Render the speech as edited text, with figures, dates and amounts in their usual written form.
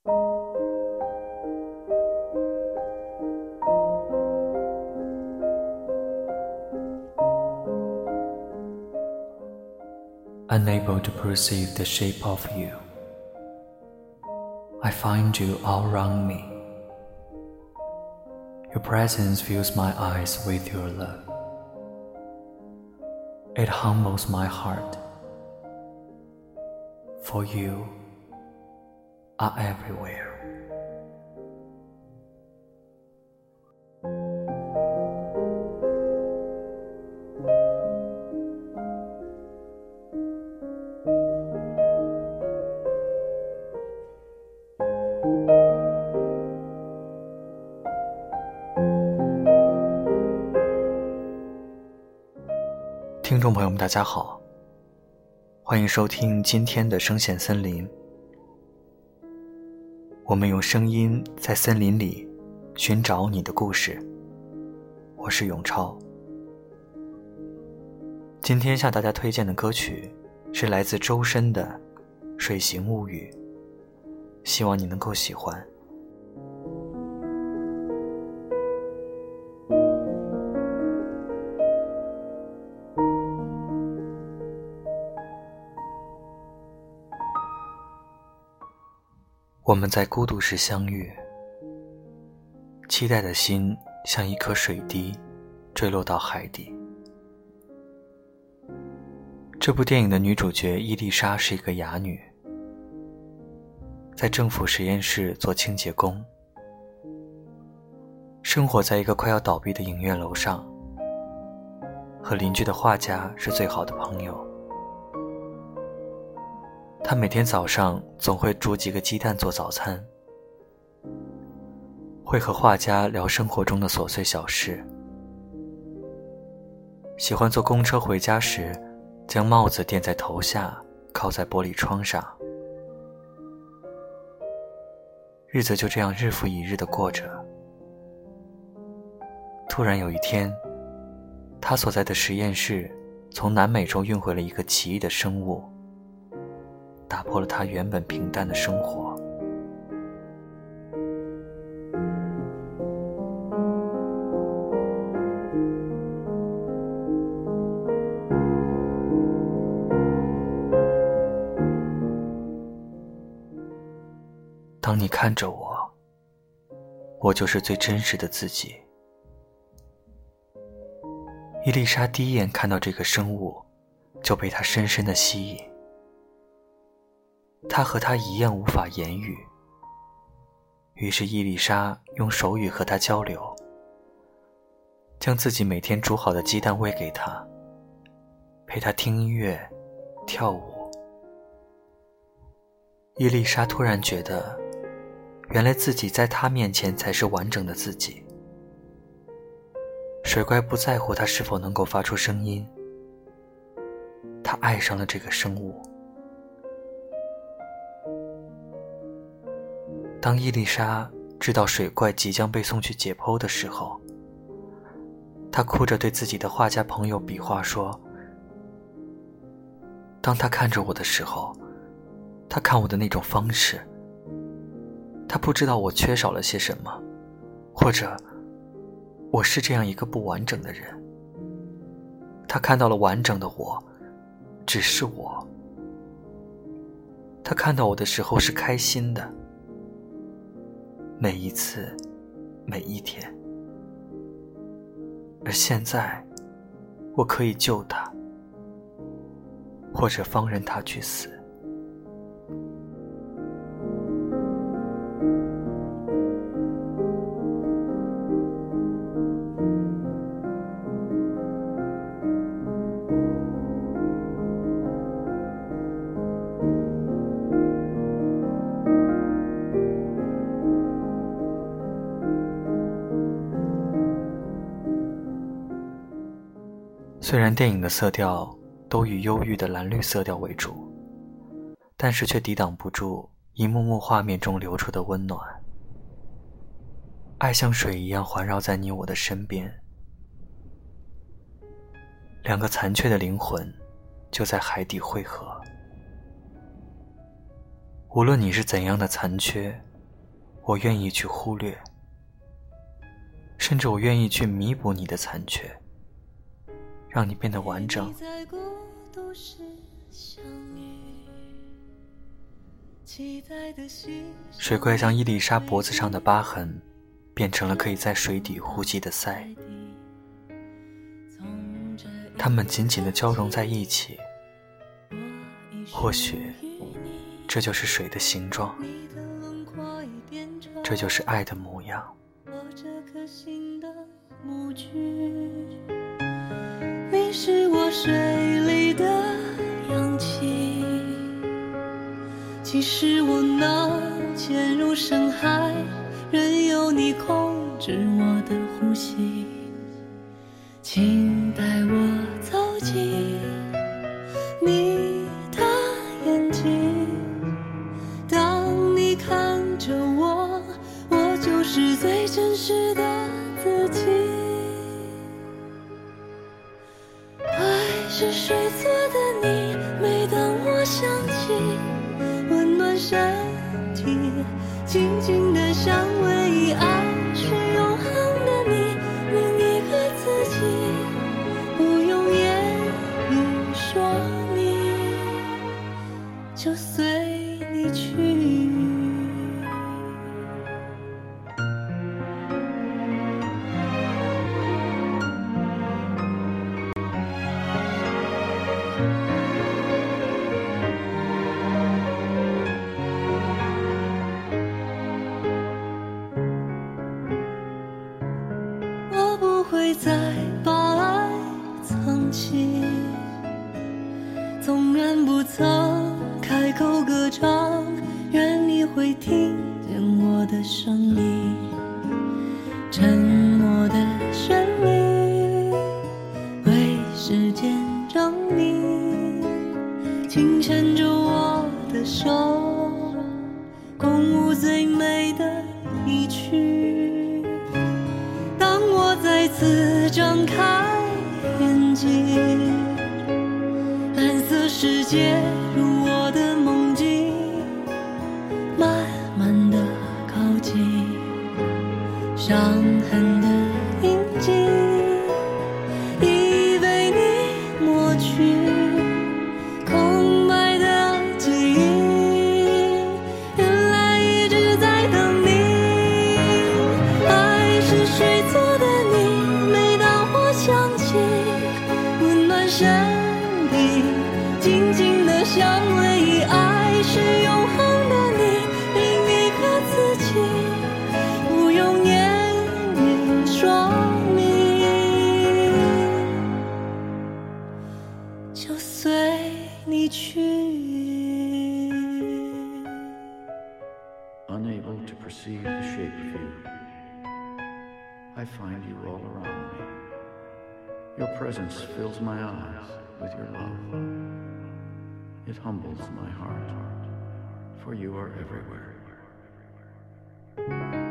Unable to perceive the shape of you, I find you all around me. Your presence fills my eyes with your love. It humbles my heart, for you are everywhere.听众朋友们大家好，欢迎收听今天的声线森林。我们用声音在森林里寻找你的故事，我是永超。今天向大家推荐的歌曲是来自周深的《水形物语》，希望你能够喜欢。我们在孤独时相遇，期待的心像一颗水滴坠落到海底。这部电影的女主角伊丽莎是一个哑女，在政府实验室做清洁工，生活在一个快要倒闭的影院楼上，和邻居的画家是最好的朋友。他每天早上总会煮几个鸡蛋做早餐，会和画家聊生活中的琐碎小事，喜欢坐公车回家时将帽子垫在头下，靠在玻璃窗上。日子就这样日复一日地过着。突然有一天，他所在的实验室从南美洲运回了一个奇异的生物，打破了他原本平淡的生活。当你看着我，我就是最真实的自己。伊丽莎第一眼看到这个生物，就被它深深地吸引。他和他一样无法言语，于是伊丽莎用手语和他交流，将自己每天煮好的鸡蛋喂给他，陪他听音乐跳舞。伊丽莎突然觉得，原来自己在他面前才是完整的自己。水怪不在乎他是否能够发出声音，他爱上了这个生物。当伊丽莎知道水怪即将被送去解剖的时候，她哭着对自己的画家朋友比划说，当他看着我的时候，他看我的那种方式，他不知道我缺少了些什么，或者我是这样一个不完整的人。他看到了完整的我，只是我。他看到我的时候是开心的，每一次，每一天。而现在，我可以救他，或者放任他去死。虽然电影的色调都以忧郁的蓝绿色调为主，但是却抵挡不住一幕幕画面中流出的温暖。爱像水一样环绕在你我的身边，两个残缺的灵魂就在海底汇合。无论你是怎样的残缺， 我愿意去忽略，甚至我愿意去弥补你的残缺，让你变得完整。水怪将伊丽莎脖子上的疤痕变成了可以在水底呼吸的鳃，它们紧紧地交融在一起，或许这就是水的形状，这就是爱的模样。 你是我水里的氧气，即使我能潜入深海，任由你控制我的呼吸，请带我走进你的眼睛，当你看着我，我就是最真实的自己。爱是水做的你，每当我想起，温暖身体，静静的香味。爱是永恒的你，另一个自己，不用言语说明，就随你去。会再把爱藏起，纵然不曾开口歌唱，愿你会听见我的声音。沉默的旋律为时间证明，请牵着我的手，共舞最美的一曲。再次张开眼睛，蓝色世界如我的梦境，慢慢地靠近，伤痕的印记已被你抹去，空白的记忆原来一直在等你。爱是水做的身体，静静的香味。爱是永恒的你，另一个自己，不用言语说明，就随你去。 Unable to perceive the shape of you, I find you all around me. Your presence fills my eyes with your love. It humbles my heart, for you are everywhere.